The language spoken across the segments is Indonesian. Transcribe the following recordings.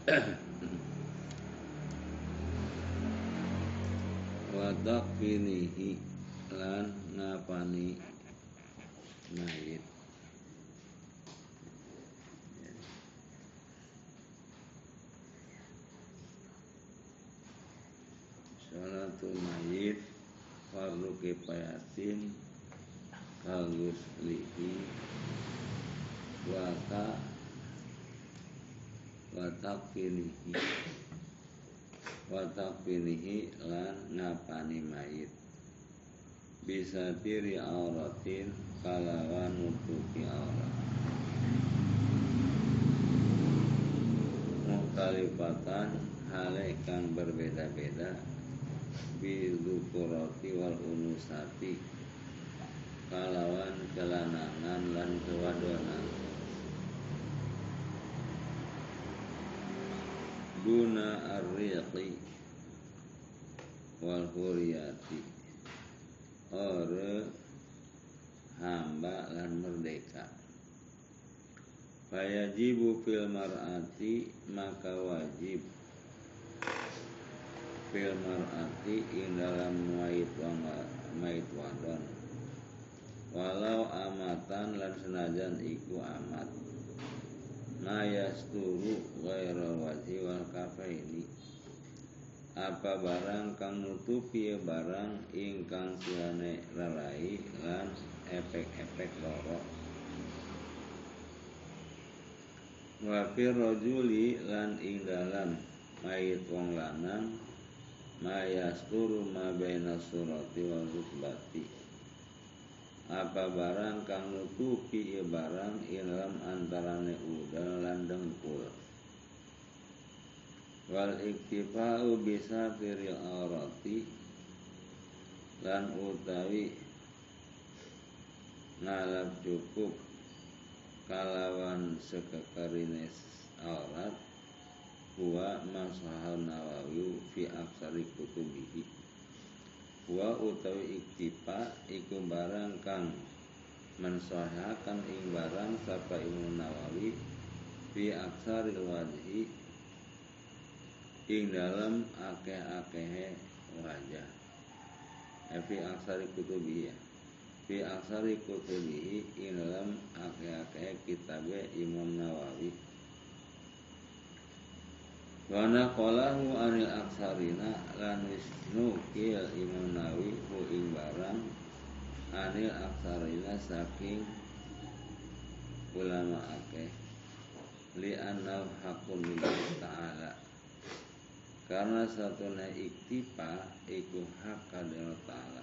Wa takfinihi lan ngapani mayit. Salatul mayit fardu kifayatin kaguslihi wa takfinihi lan ngapani mayit bisa tiri auratin kalawan nutupi aurat mukhtalifatan hale kang berbeda-beda bizukurati wal unusati kalawan kelanangan lan kewadonan duna arriqi wal huriyati ore hamba lan merdeka. Fayajibu fil mar'ati maka wajib fil mar'ati ing dalam mayit wadon walau amatan lan senajan iku amat mayasturu ghairal wajhi wal kafaini apa barang kang nutupi barang ingkang silane lalai lan efek-efek loro wa fir rajuli lan ing dalam mayit wong lanang mayasturu ma baina surati wal rukbati apa barang kang nutupi barang dalam antarane udal lan dengkul wal iktifa'u bisa firil aurati lan utawi ngalap cukup kalawan sekekarine aurat huwa masahan Nawawi fi aksari kutubihi wa utawi iktifa iku barang kang mensahakan ing barang sapa Imam Nawawi fi aksari wajhi ing dalam akeh-akehe wajah fi aksari kutubihi fi aksari kutubihi ing dalam akeh-akehe kitabe Imam Nawawi wa naqalahu anil aksarina lan wisnu kil Imam Nawawi hu ing barang anil aksarina saking ulama akeh li annahu haqqun lillahi ta'ala karena satuna iktifa iku hak kadang ta'ala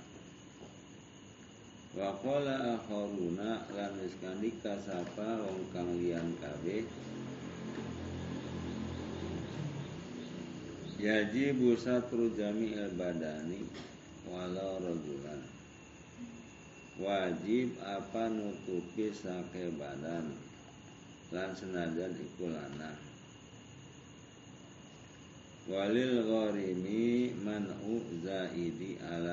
wa qala akharuna lan iskandika sapa wong kang liyan kabeh yajibu satru jami'il badani walau rajulan wajib apa nutupi sake badan lan senajan iku lanang walil gharimi man'u zaidi ala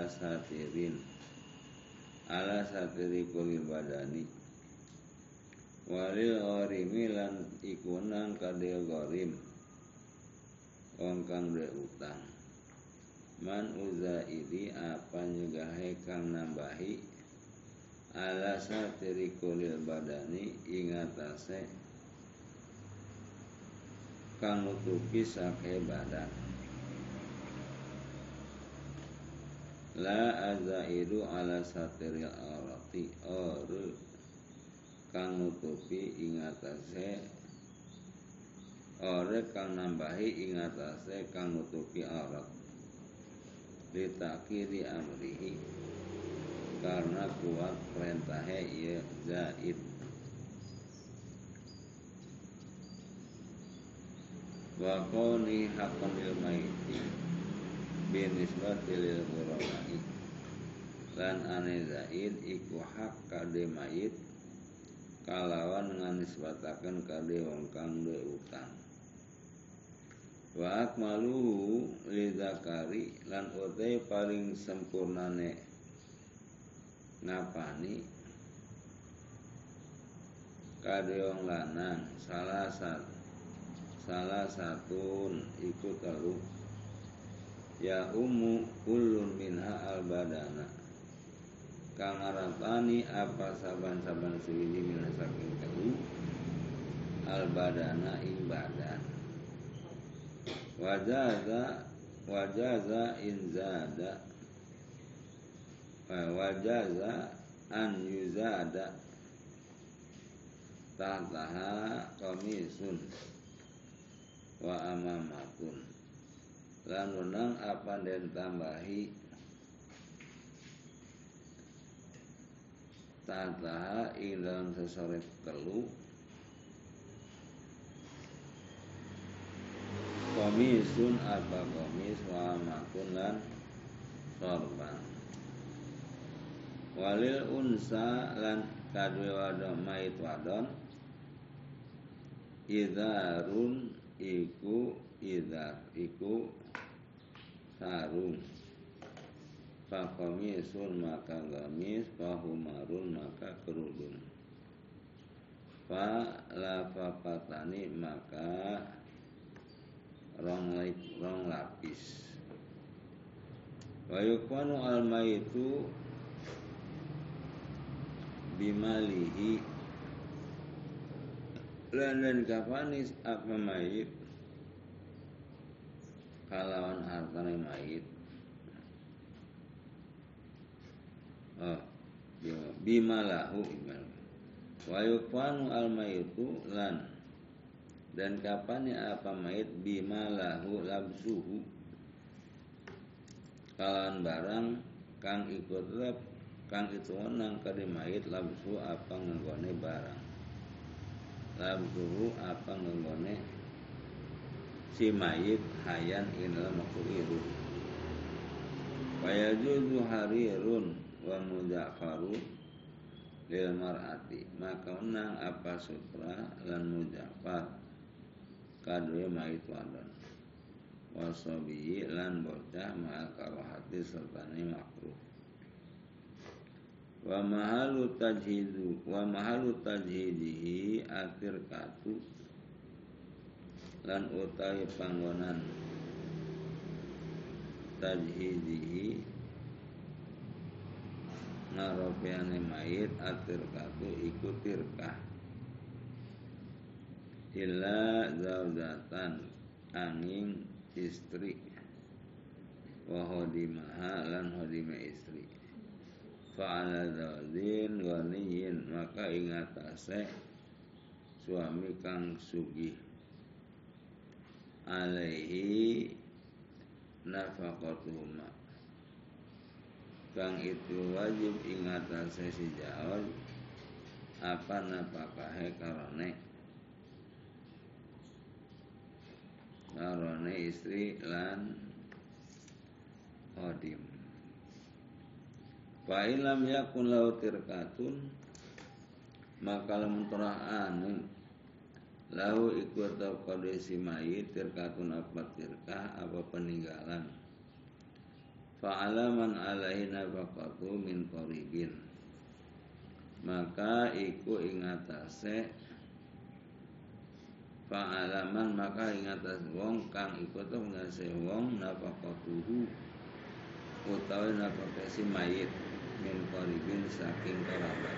satiri kulil badani walil gharimi lan ikunang kadil gharim wong kang duwe utang man'u zaidi apa nyugahe kang nambahi ala satiri kulil badani ingatase kang nutupi sake badan la azaidu ala satiril aurati ore kang nutupi ingatase ore kang nambahi ingatase kang nutupi aurat litakiri amrihi karena kuat perintahe ya zaid wa qawni haqqan lil maiti binisbati lil ghurama'i lan ane zaid iku hak kade mayit kalawan nganisbataken kade wong kang duwe utang wa akmaluhu lidzakari lan utai paling sempurnane ngapani kade wong lanang salah satun iku telu ya kullun minha al badana kang ngarapani apa saban-saban suwiji minha saking telu al badana ing badan wajaza inzada wajaza an yuzada tahtaha qamisun wa amamatun lan wenang apa den tambahi tahtaha ing dalam sesoret telu komisun apa komis wa amatun lan sorban walil unsa lan kadwe wadon mait wadon idharun iku sarung fakomisun maka gamis fahumarun maka kerudung fa lafapatani maka rong lapis wa yukwanu al maitu bimalihi lan dan kafanis apa mayit kalawan hartane mayit bimalahu wa yukfanu al mayitu lan dan kapan apa mayit bimalahu labsuhu kalawan barang kang ikut lab kang itu nang kade mayit labsu apa nggone barang labsuhu apa nggone si mayit hayan inal maksud itu wayajuzu harirun wa mujafaru lil mar'ati maka unang apa sutra lan mujafar kadwe mayit wadon wasobi lan bocah ma'al karahati sertane makruh wa mahalu tajhidihi akhir katu lan utawi panggonan tajhidihi naropeane mayit akhir katu iku tirkah illa zaujatan angin istri wa hodimaha lan hodima istri fa'ala zaujin ghaniyin maka ingatase suami kang sugih alaihi nafaqatuhuma kang itu wajib ingatase si jauh apa napakahe karone istri lan hodim fa ilam yakun lau tirkatun maka lamun terah anu lahu ikut tau kode si mayit tirkatun apa tirkah apa peninggalan fa'alaman alaihi nafaqatu min qaribin maka iku ingatase fa'alaman maka ingatase wong kang iku tau ngase wong nafaqatuhu utawi nafaqasi mayit min qaribin saking kerabat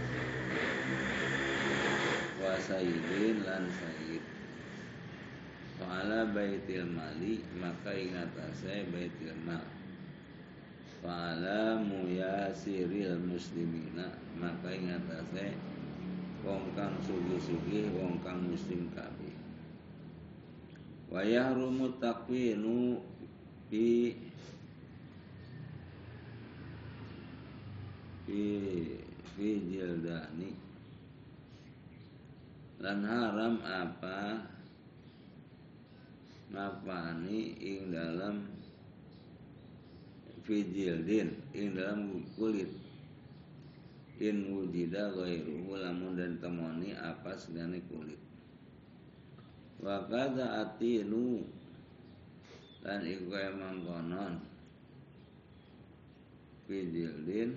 wa sayyidin lan sayyid fa'ala baitil mali maka ingatase baitil mal fa'ala muyasiril muslimina maka ingatase wong kang sugih-sugih wong kang muslim kabeh wa yahrumu taqwinu fi jildani lan haram apa ngapani ing dalam fi jildin ing dalam kulit in wujida ghairuhu lamun dan temoni apa sedane kulit wa kadza atinu lan iku emang konon fi jildin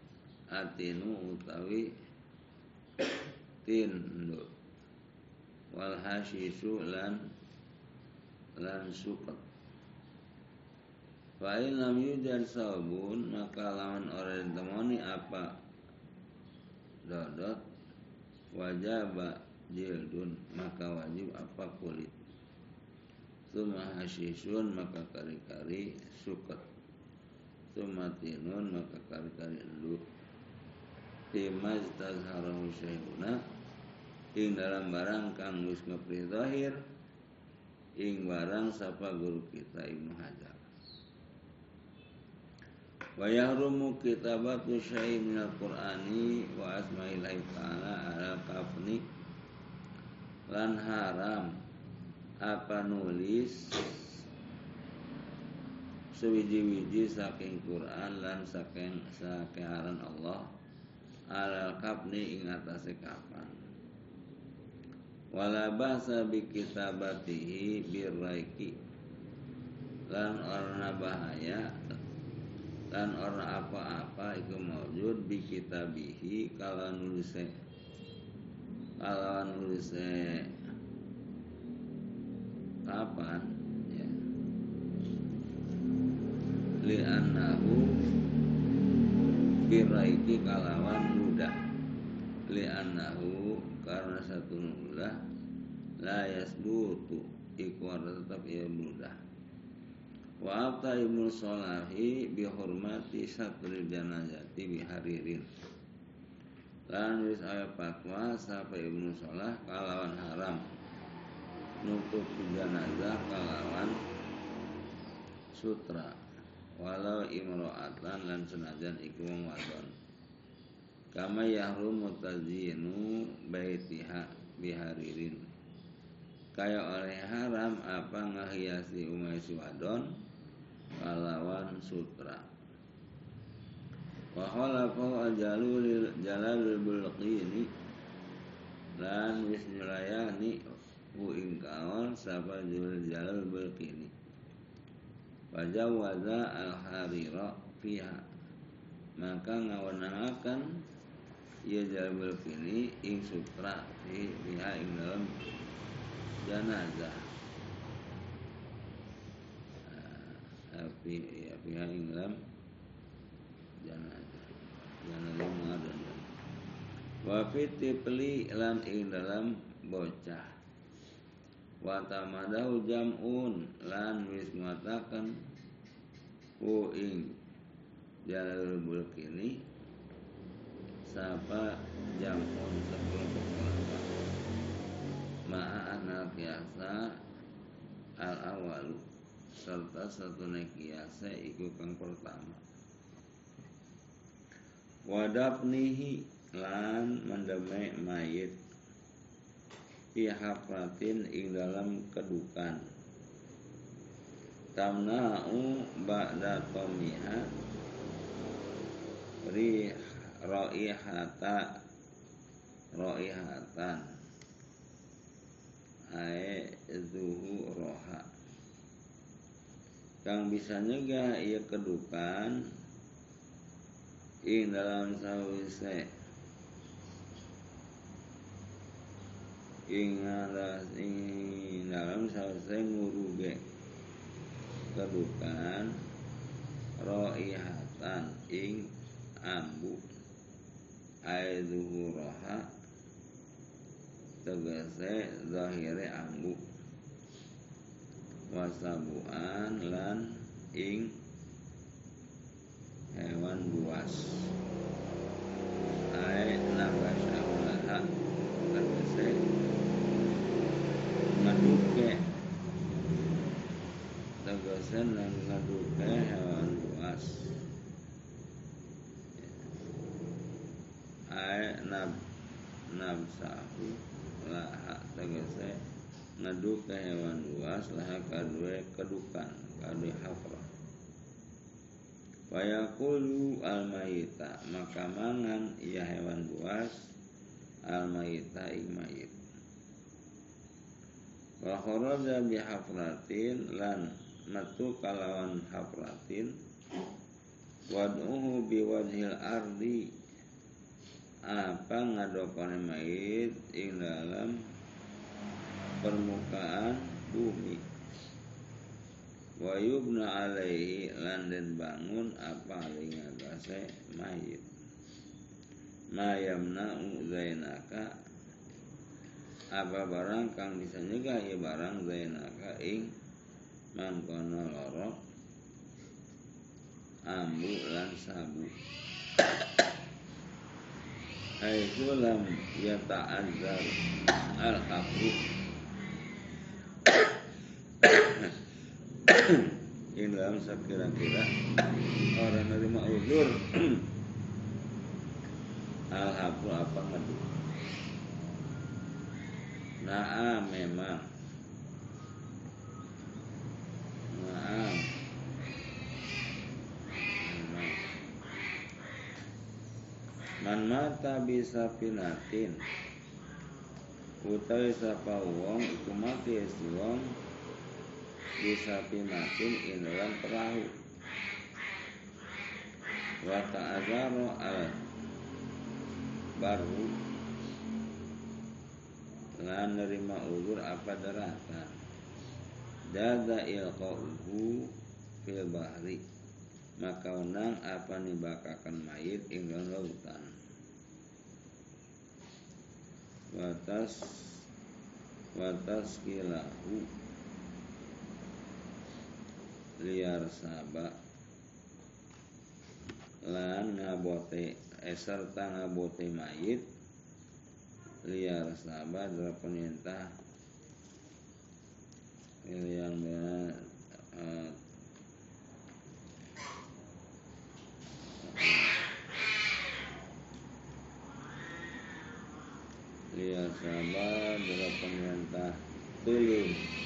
atinu utawi tinduk wal hasyisu lan suket. Fa in lam yujad saubun, maka lawan orang temoni apa dodot, wajaba jildun, maka wajib apa kulit. Suma hasyisun, maka kari-kari suket. Suma tinun, maka kari-kari endu. Timaz tazharahu syaihuna, ing dalam barang kang wis ngepri zahir, ing barang sapa guru kita Ibnu Hajar. Wa yahrumu kitabatu syai'in minal Qur'ani wa asma'illahi ta'ala ala kafni, lan haram apa nulis sewiji-wiji saking Quran lan saking aran Allah alal kafni ing atase kapan. Wala ba'sa bi kitabatihi birraiki, lan orna bahaya lan orna apa-apa iku maujud bi kitabihi kalawan nulise kapan ya, li'annahu biraiki kalawan ludah, li'annahu karena satu ludah la yasbutu iku tetap ia ludah. Wa abta Ibnu Sholahi bihormati satril janazati biharirin, lan wis aya fatwa sapa Ibnu Sholah kalawan haram nutup jenazah kalawan sutra, walau imro'atan lan senajan iku wong wadon. Kama yahrumu tazyinu baitiha biharirin, kaya oleh haram apa ngahiasi umay si wadon kalawan sutra. Wa khalafahu Jalalul Bulqini, lan wis nyulayani ing kawan sapa Jalal Bulqini. Wa jawaza al-harira fiha, maka ngawenangaken ia Jalal Bulqini ing sutra fiha ing dalam janazah. Fiha ing dalam janazah mengadon. Wa fitifli lan ing dalam bocah. Wa tamadahu jam'un, lan wis mengatakan ku ing Jalalul Bulqini sapa jam'un sekelompok ulama ma'a anal kiasa al awalu, serta satu kiasa iku kang pertama. Wadafnihi, lan mendemai mayit fi hafratin ing dalam kedukan. Tamna'u ba'da tomiha ro'ihatan ae zuhu roha, kang bisa nyegah ia kedukan ing dalam sawise ing dalam sawise nguruge kedukan ro'ihatan ing ambu ae zuhu roha tegese zahire ambu, wasabuan lan ing hewan buas ae nabasya ulaha tegese ngaduke hewan buas ae nabsahu laha tegese ngaduke hewan buas laha kadue kedukan kadue hafrah. Wayakulu al-mayita, maka mangan ia hewan buas al-mayita ing mayit. Wa kharaja bi hafratin, lan metu kalawan hafratin. Wad'uhu bi wajhil ardi, apa ngadokone mayit ing dalam permukaan bumi. Wa yubna alaihi lan den bangun apa ing atase mayit. Mayamna'u zainaka apa barang kang bisa nyegah ya barang zainaka ing mangkono loro ambu lan sabu. Haitsu lam yata'azzar al-haqu in dalam sekira-kira orang nerima uzur al-haqu apa ngadu. Naam memang man mata bisa pinatin utawi sapa wong iku mati wong bisa pinatin ing dalam perahu wa ta'azaro al baru lan nerima uzur apa daratan dada ilqauhu fil bahri maka unang apa nibakakan mayit ing lautan watas kilahu liar saba lan ngabote serta ngabote mayit liar saba adalah perintah yang liar saba adalah perintah tulung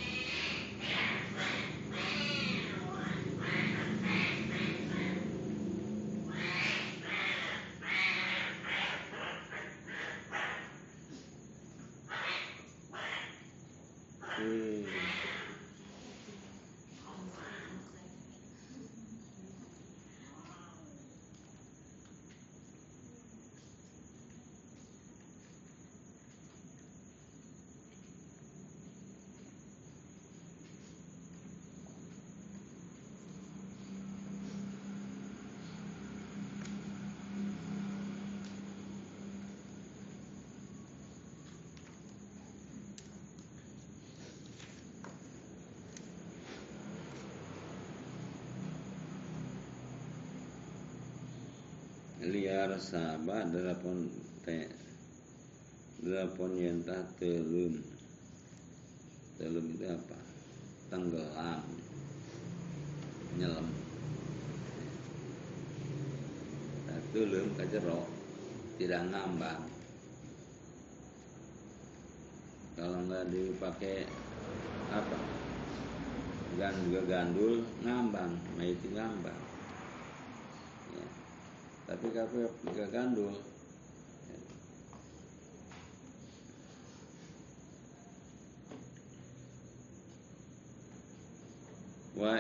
liar sabah delapan yentah telum itu apa? Tenggelam, nyelam. Nah, telum kajero tidak ngambang. Kalau nggak dipakai apa? Gandul ngambang, itu ngambang. Ya. Tapi kalau pakai gandul wa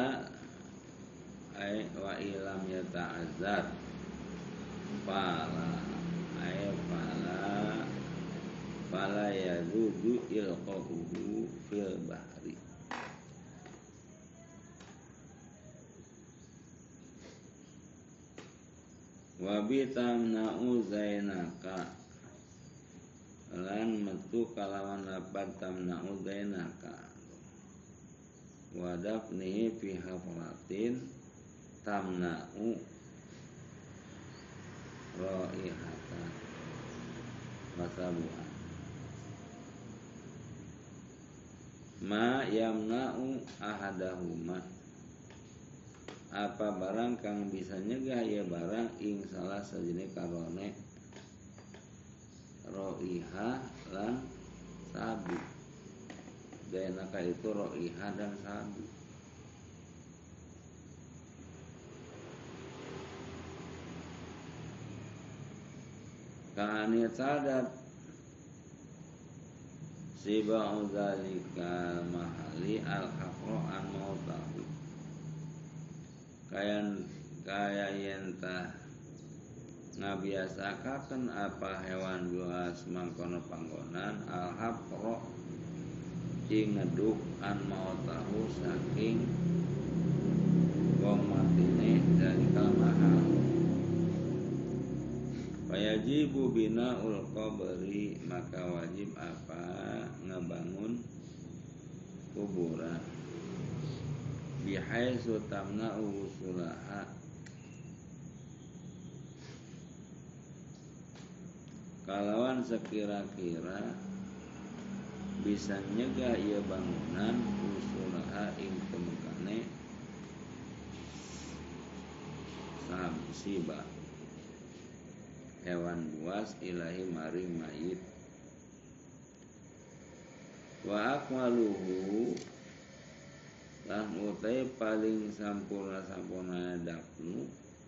ilam yata'azzar fala yazudu ilqahu fil bahri wa bitamna'u zainaka lan metu kalawan lapan tamna'u zainaka wa dafnihi fi hafratin tamna'u raihatan masabuhan ma yamna'u ahadahuma apa barang kang bisa nyegah ya barang ing salah sejenis karone roiha lan sabu dayanaka itu roiha dan sabu kanit sadat sibau zalika mahali al-haqra'an mautahu kaya yentah ngabiasakaken apa hewan buas mangkono panggonan al-haqra ing ngeduk an mautahu saking wong matine dari kamahal. Wajibu binaul qabri, maka wajib apa ngebangun kuburan. Bihaitsu tamna'u usulaha, kalawan sekira-kira bisa nyegah ieu bangunan usulaha ing temukane sabsiba hewan buas ilahi maring mayit. Wa akmaluhu, lan utai paling sampurna dafnu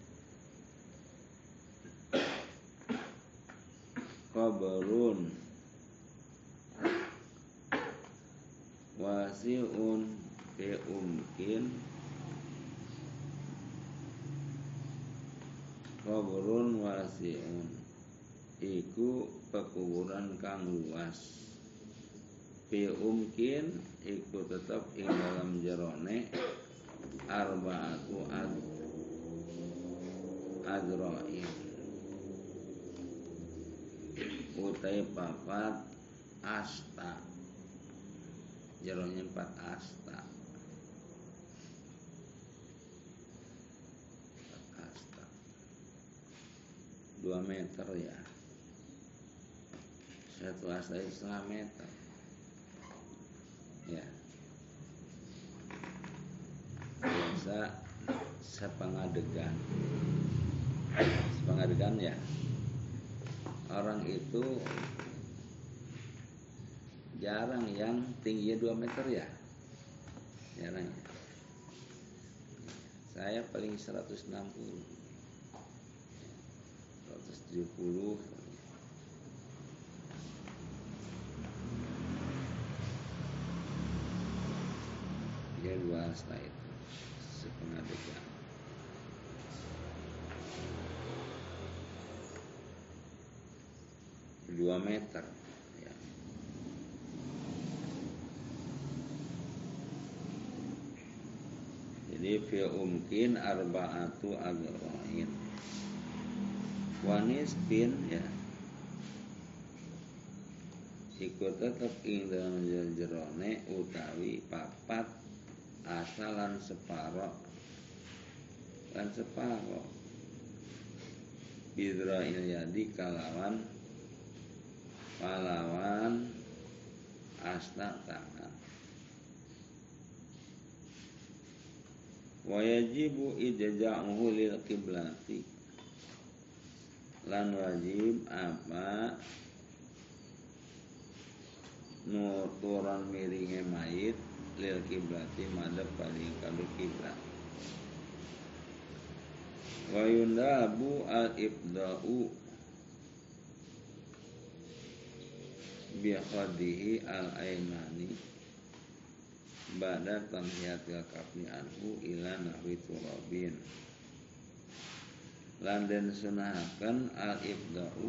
qabrun wasi'un ke umkin, qabrun wasi'un iku pekuburan kang luas. Fi umkin iku tetep ing dalam jerone arba'atu adra'in, utai papat asta, jeronya 4 asta. 4 asta 2 meter ya. 1 asta itu 1,5 meter ya. Biasa sepengadegan ya. Orang itu jarang yang tingginya 2 meter ya. Jarang ya. Saya paling 160, 170. Dia 2 asta itu sepengadegan. Dua meter ya. Jadi fi umkin arba'atu adra'in wanis bin ya, ikut tetep ing dalam jerone utawi papat asalan separo bidra'il yadi kalawan asta tangan. Wajibu ijja'uhu lil qiblati, lan wajib apa nuturan miringe mayit lil kiblati madhep paling kadu kiblat. Wa yundabu al ibda'u bi khadihi al aimani ba'da tanhiyatil kafni anhu ila nahwi turabin. Lan den sunahaken al ibda'u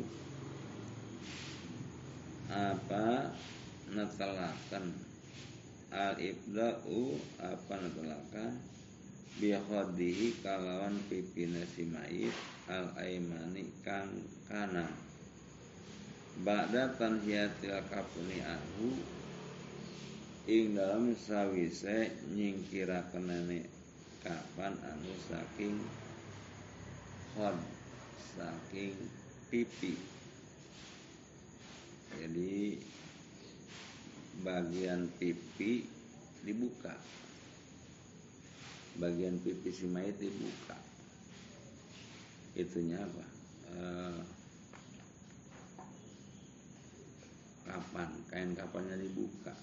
apa netelaken, al ibda'u apa netelaken bi khadihi kalawan pipine si mayit al aimani kang kanan ba'da tanhiyatil kafni anhu ing dalam sawise nyingkirakenane kapan anu saking khod, saking pipi. Jadi bagian pipi dibuka, bagian pipi si mayit dibuka. Itunya apa? Kain kapannya dibuka,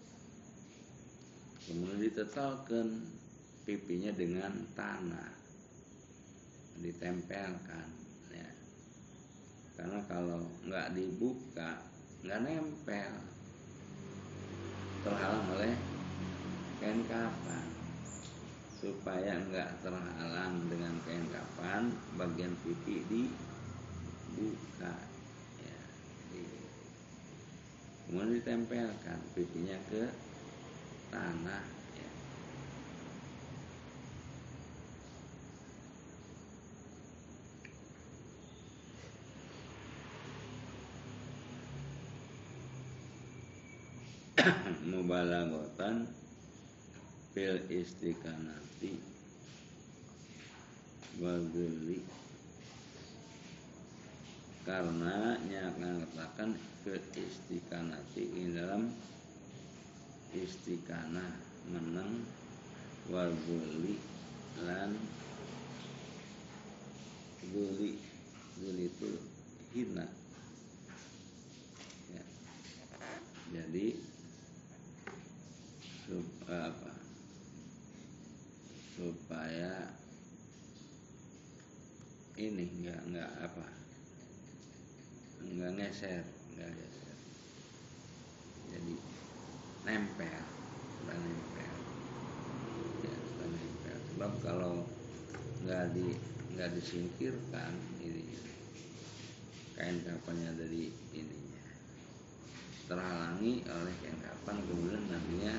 kemudian ditetalkan pipinya dengan tanah, ditempelkan ya. Karena kalau nggak dibuka nggak nempel, terhalang oleh kain kafan. Supaya nggak terhalang dengan kain kafan, bagian pipi dibuka ya. Kemudian ditempelkan pipinya ke tanah ya. Mubalaghatan fil istiqanati wa dzulli, karena nyatakan fil istiqanati ing dalam istiqanah menang wa dzulli lan dzulli itu hina ya. Jadi supaya ini enggak geser, jadi nempel dan nempel ya, dan nempel. Sebab kalau nggak disingkirkan ini kain kapannya dari ininya terhalangi oleh kain kapan, kemudian nantinya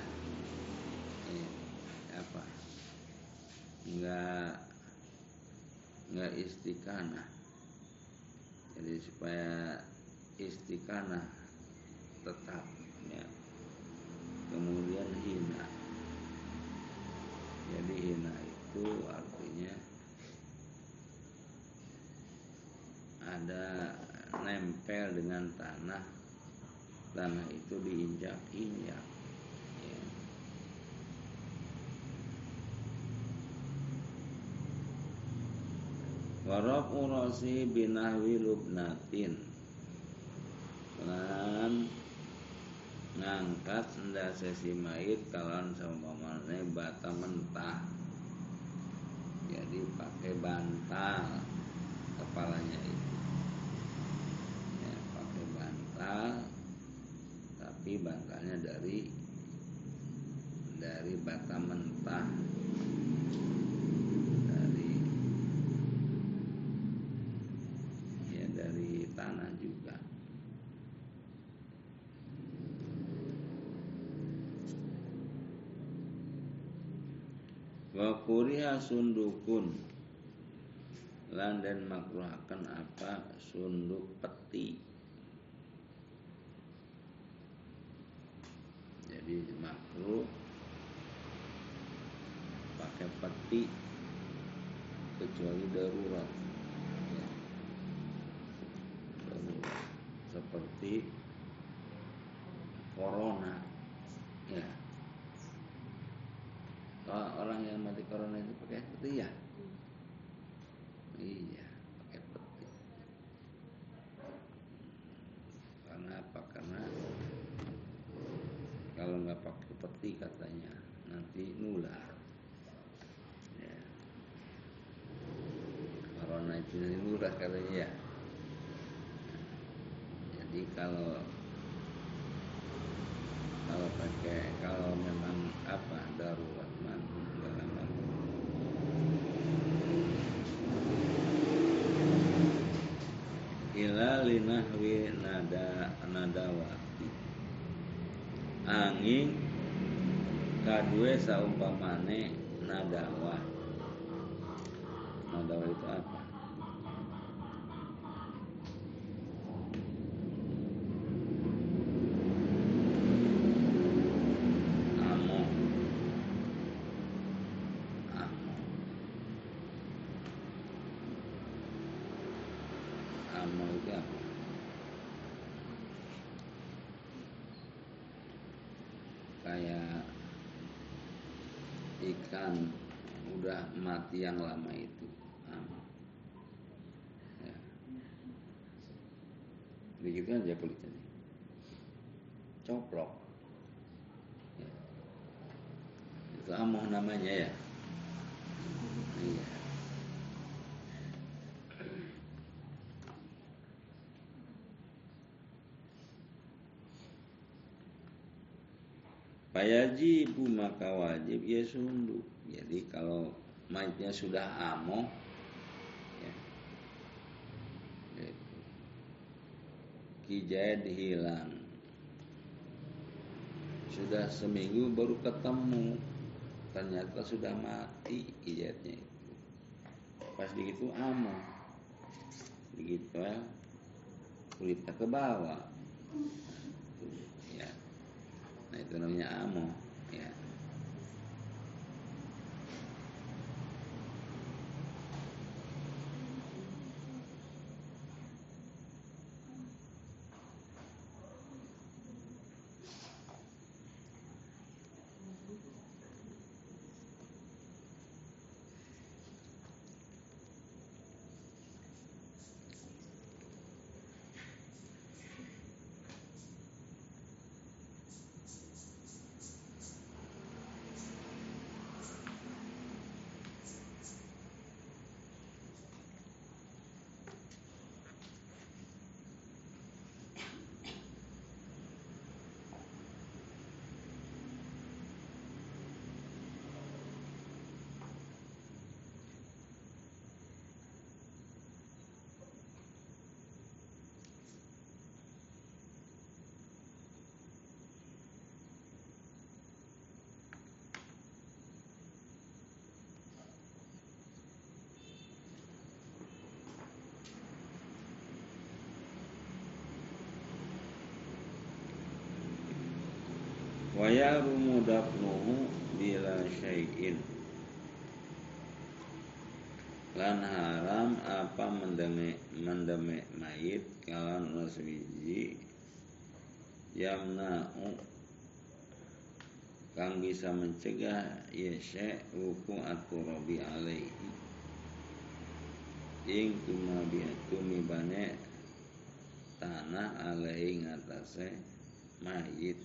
nggak istiqanah. Jadi supaya istiqanah tetap ya, kemudian hina. Jadi hina itu artinya ada nempel dengan tanah itu diinjak-injak ya. Warab urasi binahwi lubnatin, lan ngangkat ndase si mayit kalan saumpamane bata mentah. Jadi pakai bantal kepalanya itu ya, pakai bantal, tapi bantalnya dari bata mentah, dari tanah juga. Wa kuriha sundukun, lan den makruhaken apa sunduk peti. Jadi makruh pakai peti kecuali darurat ya. Darurat seperti corona ya. Orang yang mati corona itu pakai peti ya. Iya, pakai peti. Karena apa? Karena kalau nggak pakai peti katanya nanti nular. Ya. Corona itu nular katanya ya. Jadi kalau memang darurat ila linahwi nadawati, angin kadue saumpamane nadawa. Nadawa itu apa? Amo itu apa? Kayak ikan udah mati yang lama itu ya. Begitu aja kulitnya coplok ya. Itu amoh namanya ya. Iya. Fayajibu, maka wajib ya sunduk. Jadi kalau mayitnya sudah amoh ya, kijad hilang sudah seminggu baru ketemu, ternyata sudah mati ijatnya itu. Pas begitu amo, begitu ya, kulitnya ke bawah, ya. Nah itu namanya amo, ya. Wa yarumu dafnuhu bila syai'in, lan haram apa mendeme mayit kalawan naswiji yamna'u kang bisa mencegah yasya hukum at-turabi alaihi ing tumibane tanah alaihi ngatasé mayit.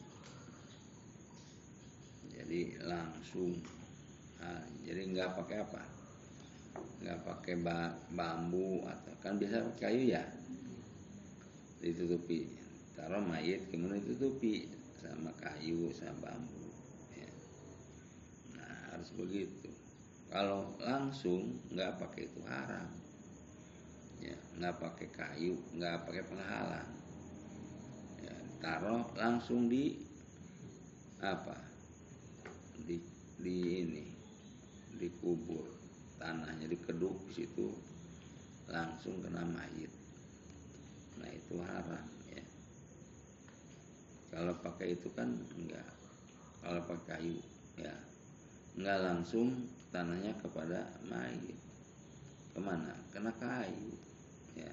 Jadi langsung, jadi nggak pakai apa, nggak pakai bambu atau kan bisa pakai kayu ya, ditutupi, taruh mayit kemudian ditutupi sama kayu sama bambu, ya. Nah harus begitu. Kalau langsung nggak pakai itu haram, ya, nggak pakai kayu, nggak pakai penghalang, ya, taruh langsung di apa, di ini, dikubur, tanahnya dikeduk di situ langsung kena mayit. Nah itu haram, ya. Kalau pakai itu kan enggak, kalau pakai kayu, ya, enggak langsung tanahnya kepada mayit, kemana? Kena kayu, ya.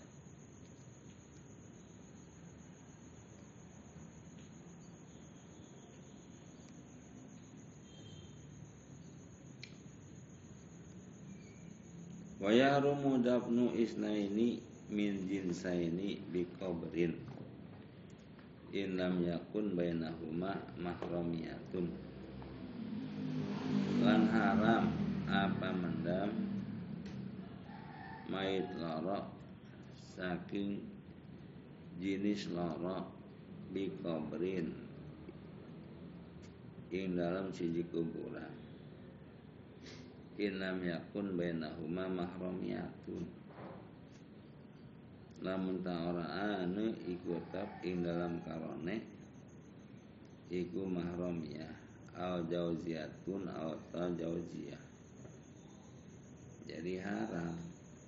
Wa yahrumu dafnu isnaini min jinsaini biqabrin in lam yakun bainahuma mahramiyatun, lan haram apa mendam mayit loro saking jenis loro biqabrin ing dalam siji kuburan inam yakun bainahuma mahramiyatun, lamun ta ora anu iku tetap ing dalam karone iku mahramiyah al jauziyatun atau jauziyah. Jadi haram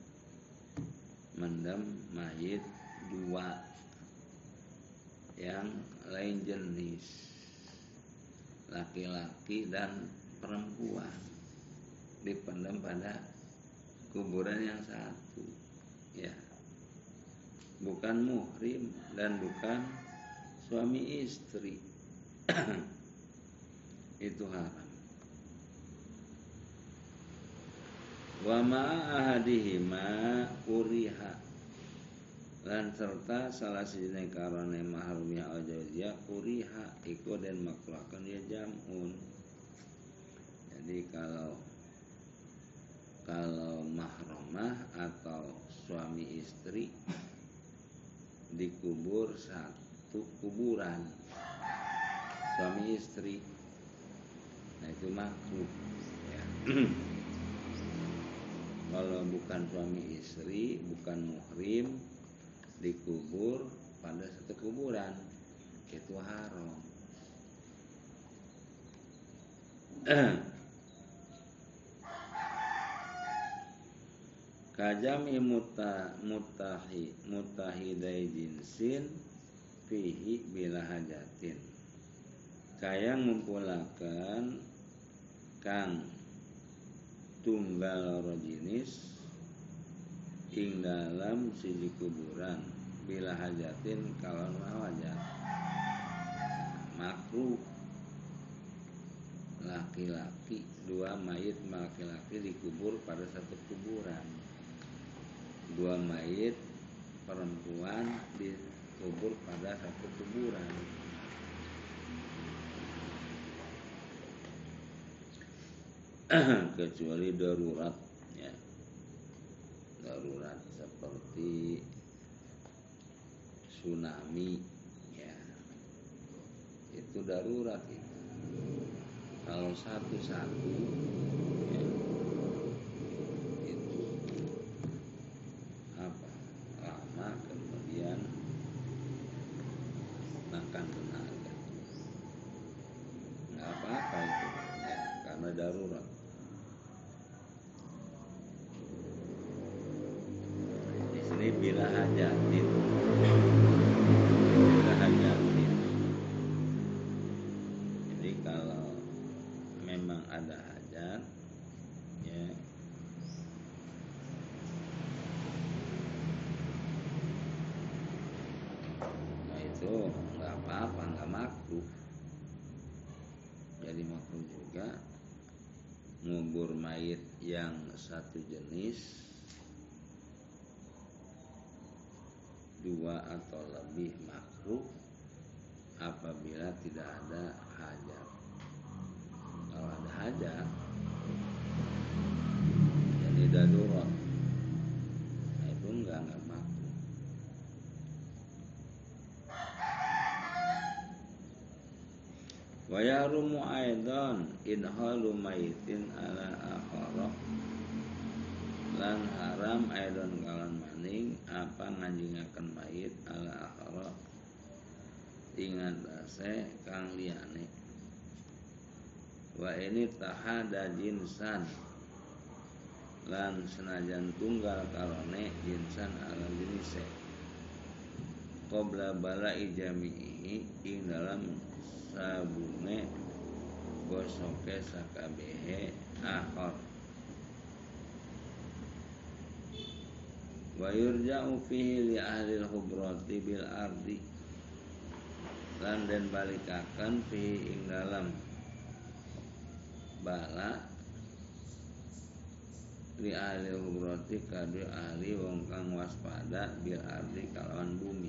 mendam mayit dua yang lain jenis, laki-laki dan perempuan, dipendam pada kuburan yang satu, ya, bukan muhrim dan bukan suami istri. Itu haram. Wa ma'ahadihima kuriha, lan serta salah sijine karone mahrumiyah al jauziyah kuriha iku den makruhaken ya jamun. Jadi kalau mahramah atau suami istri dikubur satu kuburan suami istri, nah itu makruh, ya. Kalau bukan suami istri, bukan muhrim, dikubur pada satu kuburan, itu haram. Kajami mutahidai jinsin fihi bila hajatin, kayang ngumpulakan kang tunggal loro jenis ing dalam siji kuburan bila hajatin kalon hajat. Makruh laki-laki, dua mayit laki-laki dikubur pada satu kuburan, dua mayit perempuan dikubur pada satu kuburan. Kecuali darurat, ya. Darurat seperti tsunami, ya. Itu darurat itu. Kalau satu-satu, ya, itu lama kemudian makan tenaga, nggak apa-apa itu, ya, karena darurat. Di sini bila hajatin, bila hajatin. Jadi kalau memang ada hajat, ya, nah itu nggak apa-apa, nggak makruh. Jadi makruh juga ngubur mayit yang satu jenis dua atau lebih makruh apabila tidak ada hajat. Kalau ada hajat, jadi darurat, nah itu enggak makruh. Wa yarumu aidan idhalu maitin ala akhara, lan haram aidan kalan maning apa nganjingaken mayit ala akhara ing atase kang liyane. Wa ini tahada jinsan, lan senajan tunggal karone jinsan ala jinise qabla bala'i jami'i ing dalam sabune gosoke sakabehe akhar. Wa yurja'u fihi li ahli al-hubrati bil ardi, lan den balikaken fihi ing dalam bala li ahli hubrati kadu ahli wong kang waspada bil ardi kalawan bumi.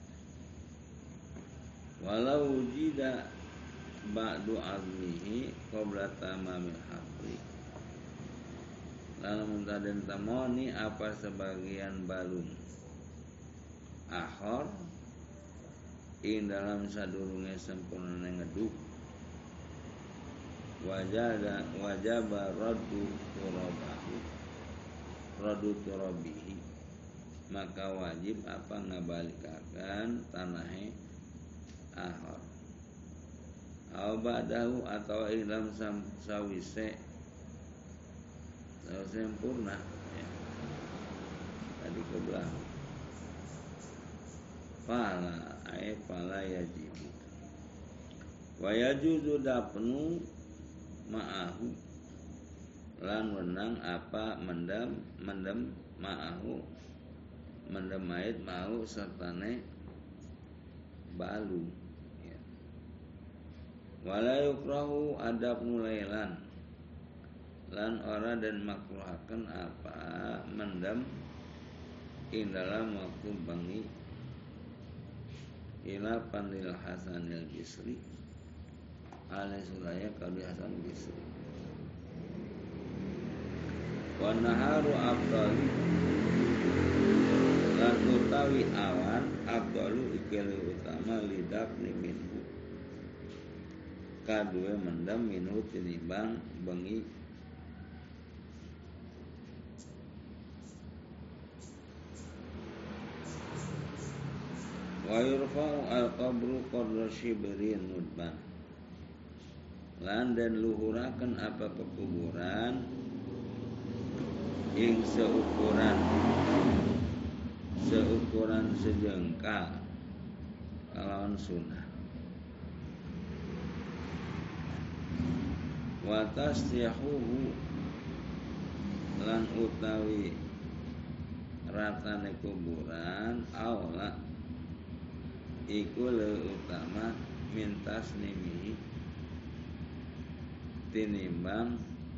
Walau wujida ba'du azmihi qabla tamamil hafri, lalu muntaden tamoni apa sebagian balung akhor ing dalam sadurunge sempurna ngeduk, wajaba raddu turabihi, maka wajib apa ngabalikakan tanahe akhor. Au ba'dahu atau ilam sawise sempurna, ya. Tadi ke belakang. Fala yajibu. Wa yajuzu dapnu ma'ahu, lan wenang apa mendem ma'ahu, mendem mayit mau sertane balu, ya. Wala yukrahu adab nulailan, lan ora dan makruhaken apa mendem ing dalam waktu bengi ila pandil Hasanil Bisri alai sulaya kali Hasan Bisri. Wa naharu afdali, lan utawi awan afdalu ikili utama lidak minhu, kadue mendem minhu tinimbang bengi. Wa yurfa'u al-qabru qadra shibrin mudban, lan dan luhuraken apa pekuburan ing seukuran sejengkal kalawan sunah. Wa tasyahuhu lan utawi ratane kuburan aula iku leuwih utama mintas nimi tinimbang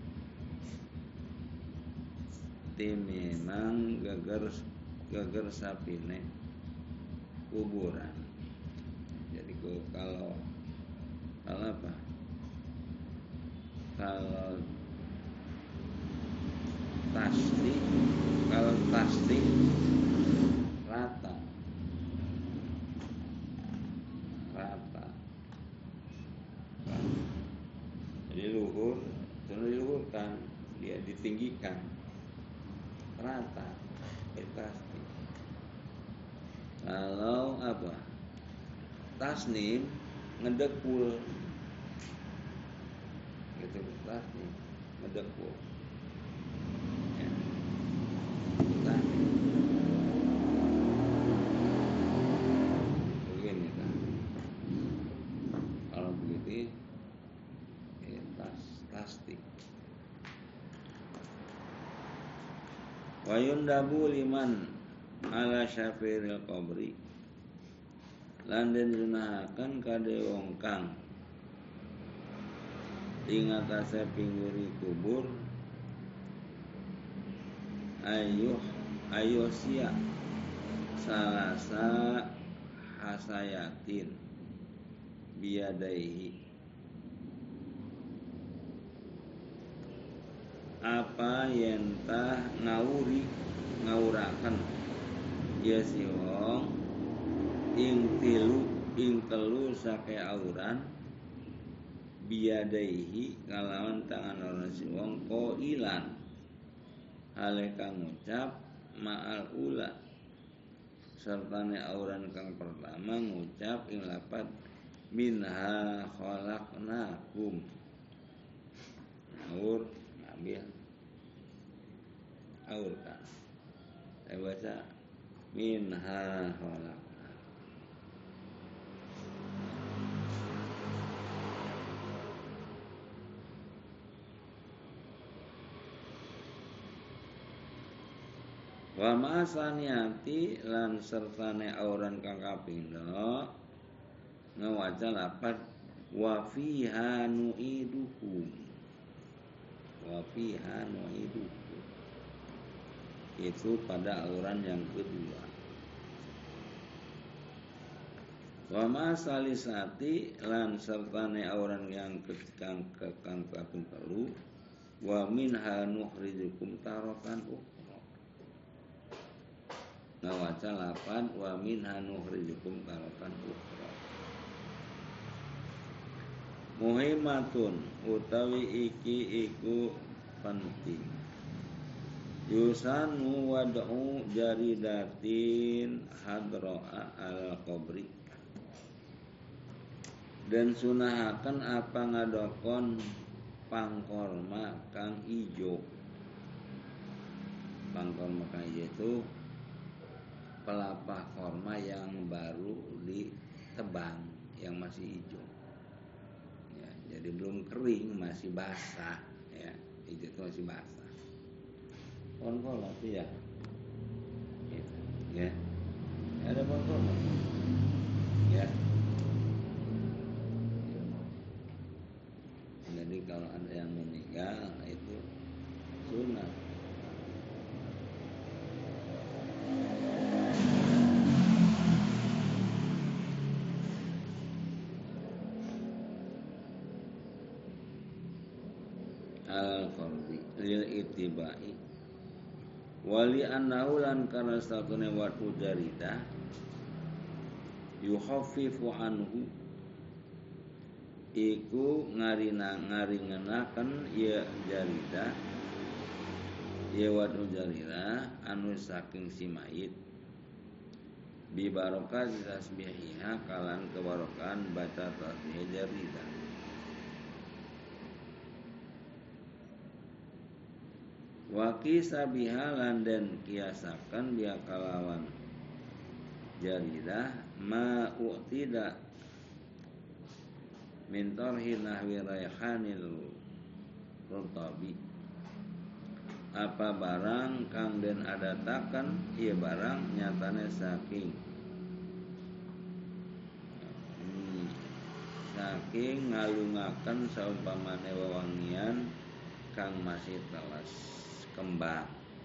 geger sapine kuburan. Jadi kalau apa? Kalau pasti rata. Jadi diluhurkan, dia ditinggikan, rata, itu pasti. Kalau apa? Tasnim ngedekul, gitu tasnim ngedekul. Ya. Tasnim. Begini kan. Kalau begitu plastik. Wa yundabu liman ala syafiril qabri lan den sunahaken kade wong kang ing atase pingguri kubur ayuh sia salasa hasayatin biadaihi apa yentah ngawuraken ya si wong ing telu sake auran biadaihi kalawan tangan orang si wong qailan hale kang ngucap ma'al ula sertane auran kang pertama ngucap ing lapat minha khalaqnakum ngawur ngambil aur kan saya baca minha khalaqnakum. Wa ma'asaniati lan sertane auran kang kapindho ngawaca lapat wa fiha nu'idukum. Wa fiha nu'idukum. Itu pada auran yang kedua. Wa ma'asalisati lan sertane auran yang kang kaping telu wa minha nukhrijukum taratan ukhra. Ngawaca lapan wa minha nukhrijukum taratan ukhra. Muhimmatun utawi iki iku penting. Yusanu wad'u jaridatin hadra'a al qabri. Dan sunahaken apa ngadokon pangkorma kang ijo. Pangkorma kang ijo itu pelapa korma yang baru ditebang, yang masih hijau. Ya, jadi belum kering, masih basah. Ya, hijau itu masih basah. Pohon korma itu ya, gitu. Ya, ada pohon korma. Ya. Jadi kalau ada yang meninggal itu sunat. Al-fardi lil itibai wali annahu lan kana satune watu jarida yukhaffifu anhu iku ngaringenaken ya jarida ya watu jarida anu saking si mayit bi barokah tasbihiha kalan kebarokan baca tasbih jarida. Wa qisa bihalan dan kiasakan biha kalawan jaridah ma u'tida min tarhi nahwi raihanil rutabi apa barang kang den adatakan ieu barang nyatane saking ngalungaken saumpamane wewangian kang masih telas kembang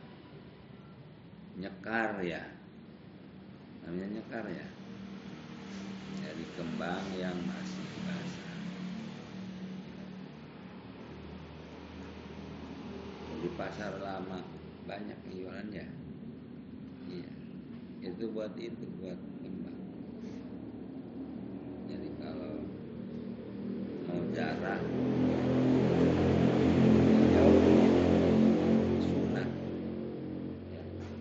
nyekar ya namanya nyekar ya dari kembang yang masih basah. Di pasar lama banyak yang jualan ya iya itu buat kembang. Jadi kalau mau jarah jauh sunat ya.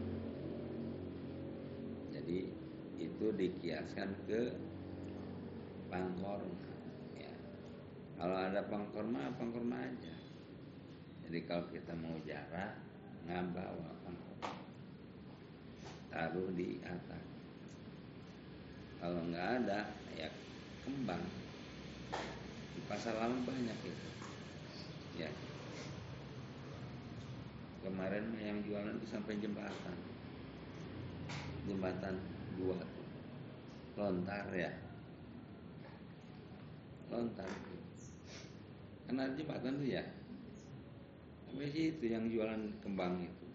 Jadi itu dikiaskan ke pangkorma ya. Kalau ada pangkorma aja. Jadi kalau kita mau jarah ngabawa pangkorma taruh di atas. Kalau nggak ada ya kembang. Di pasar lama banyak itu ya. Kemarin yang jualan itu sampai jembatan 2 lontar ya lontar kan ada jembatan tuh ya sampai situ yang jualan kembang itu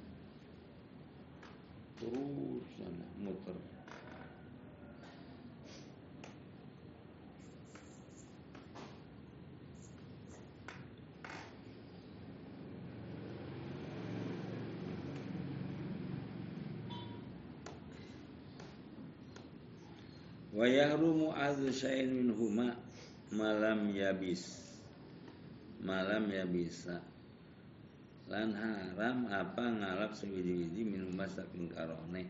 terus sana muter. Wa yahrumu adzu syai'in minhuma malam yabisa lan haram apa ngalap sewiji-wiji minhuma saking karone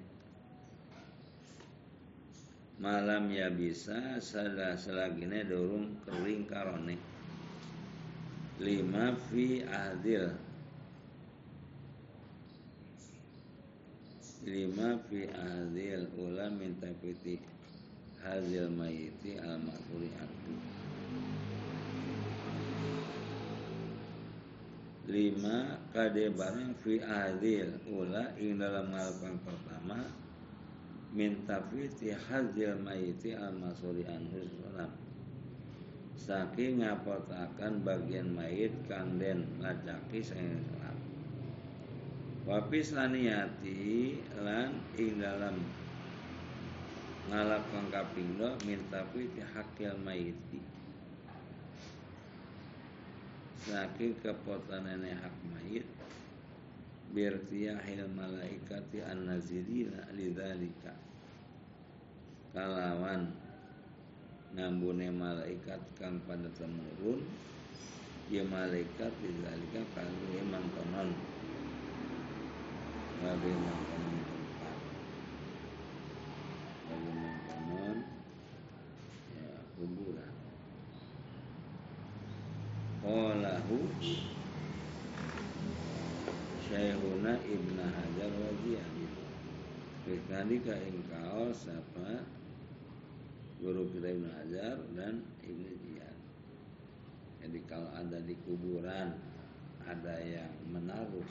malam yabisa selagine durung kering karone lima fi ahdil ula min tafiti hazil mayiti al-ma'thuri anhu 5 kade barang fi adil ula ing dalam ngalapan pertama min tafiti hazil mayiti al-ma'thuri anhu saking ngapotakan bagian mayit kang den ngacaki saking salam wapis laniyati lan ing dalam ngalap kang kaping 2 minta fi hakil mayiti saking kepotanane hak mayit birtiyahil malaikati an-nazirina lidzalika kalawan ngambune malaikat kang pada temurun ya malaikat lidzalika kanggo mangkonon wabe mangkonon kuburan. Qalahu Syekhuna Ibn Hajar wa Ziyadi. Fikadika engkau sapa guru kita Ibn Hajar dan Ibn Ziyad. Jadi kalau ada di kuburan ada yang menaruh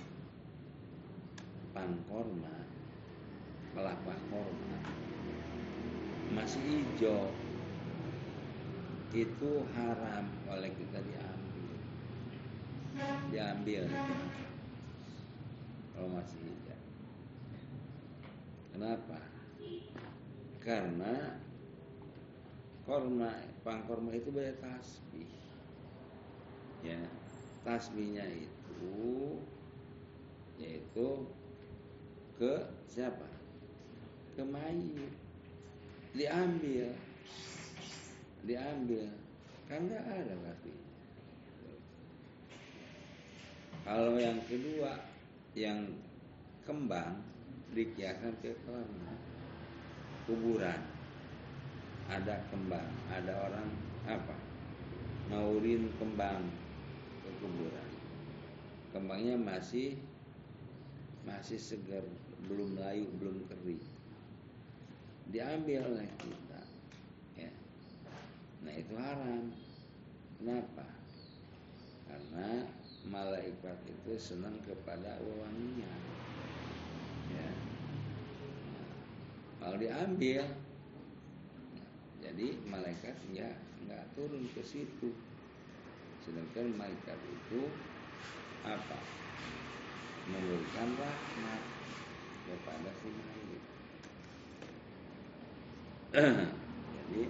pangkorma, kelapa korma masih hijau itu haram oleh kita diambil kalau masih hijau. Kenapa? Karena pangkorma itu banyak tasbih ya, tasbihnya itu yaitu ke siapa? Ke mayit diambil kan nggak ada berarti. Kalau yang kedua yang kembang dikiaskan ke kuburan ada kembang, ada orang apa ngaurin kembang ke kuburan, kembangnya masih masih segar, belum layu, belum kering, diambil oleh kita, ya. Nah itu haram. Kenapa? Karena malaikat itu senang kepada wewangian, ya. Nah, kalau diambil, jadi malaikat ya nggak turun ke situ. Sedangkan malaikat itu apa? Memberikan rahmat kepada si mayit. Jadi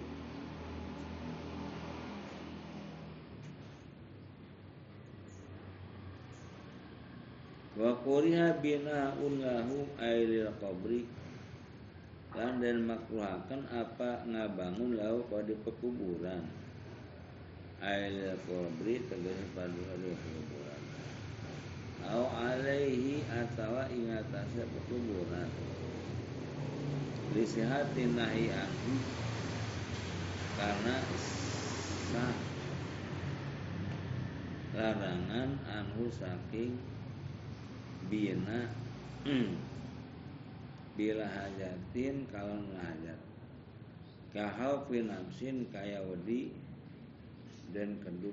wa quriha bina'un lahu ailil qabri, lan dan makruhakan apa ngabangun lahu pada pekuburan. Ailil qabri tegese pada pekuburan. Au alaihi atawa ingatase pekuburan. Lisihatin nahi anhu, karena sah larangan anhu saking bina bila hajatin kalau ngajat kahau pinapsin kaya wedi dan keduk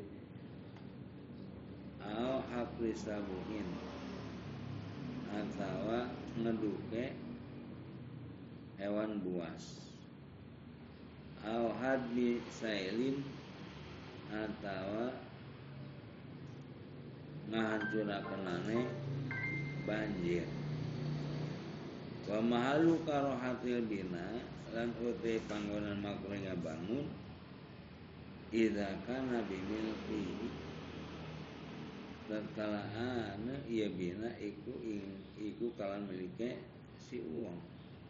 au hapri sabuhin atau ngeduke hewan buas au hadmi sailin atau ngahancurakenane banjir. Wa mahalu karohatil bina, lan uti panggonan makruh ngabangun idza kana bimilki, tatkala ieu bina iku kalan milike si uang.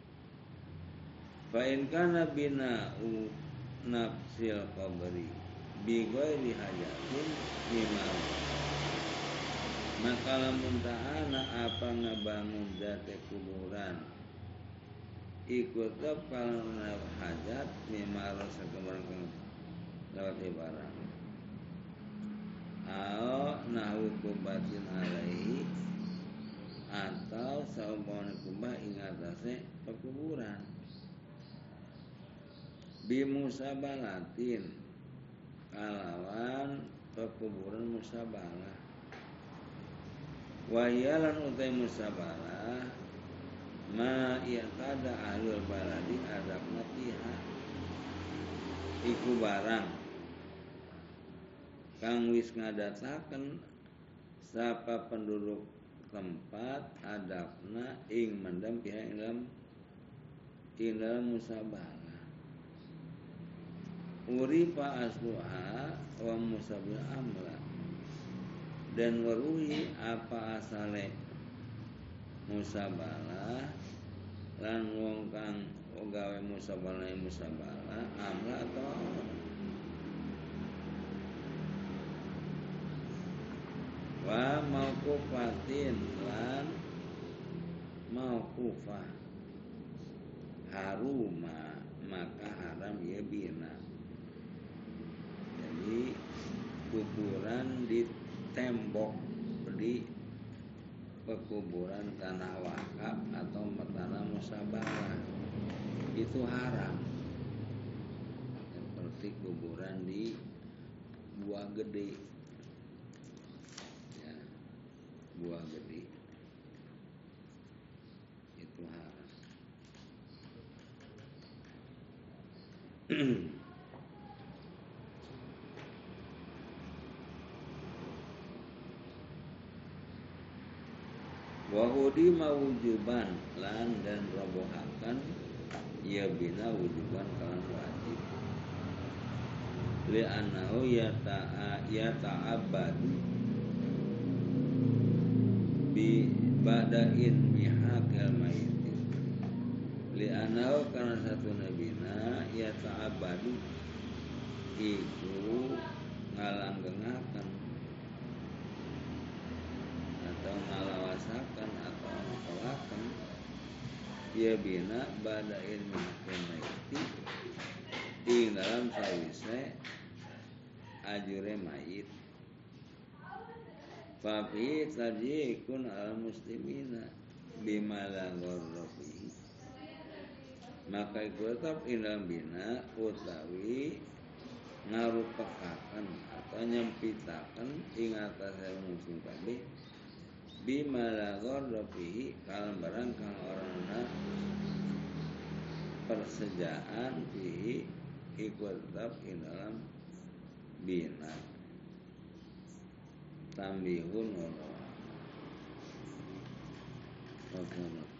Fa in kana bina nafsil qabri bi ghairi hajatin mimma, maka lamun ta'ana apa ngabangun date kuburan ikut kalau hajat mimma rasa kemarin lewat barang au nahu kubatin alaihi, atau saumpama kubah ingatase pekuburan bimusabalatin kalawan pekuburan musabalah. Wahiyalan utai musabalah ma i'tada ahlul baladi adabna fiha, iku barang kang wis ngadataken sapa penduduk tempat adabna ing mendam pihak ing dalam musabalah. Urifa asluha wa musabil amla, dan waruhi apa asale musabalah lan wong kang gawe musabalah amla atau wa mauqufatin lan mauqufah haruma maka haram ya bina. Jadi kuburan di tembok di pekuburan tanah wakaf atau tanah musabalah itu haram, seperti kuburan di buah gede, ya, buah gede itu haram. Wahudi mawujuban lan dan robohakan ya bina wujuban kalan wajib li'annahu yata'abbadu bi bada'in mihaqil maiti, li'annahu karena satu nabina yata'abbadu iku ngalanggengaken atau ngalawasakan atau ngakolakan ya bina bada'in mihaqil maiti ing dalam sawise ajure mayit. Fafi tajikun al muslimina, bimala ghorrofi, maka iku tetap indah bina utawi ngarupekaken atau nyempitaken ing atase musuh kabeh bimala ghorrofi kalam barang kang orangna persejaan fihi iku tetap ing dalam bina tambihun wallahu a'lam.